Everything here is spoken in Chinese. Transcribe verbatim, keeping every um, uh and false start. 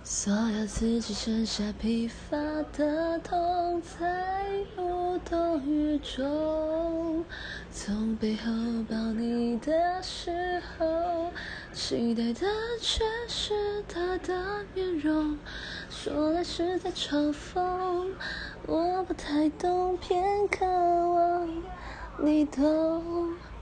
所有刺激剩下疲乏的痛，在无动于衷。从背后抱你的时候，期待的却是他的面容。说来是在嘲讽，我不太懂，偏渴望你懂。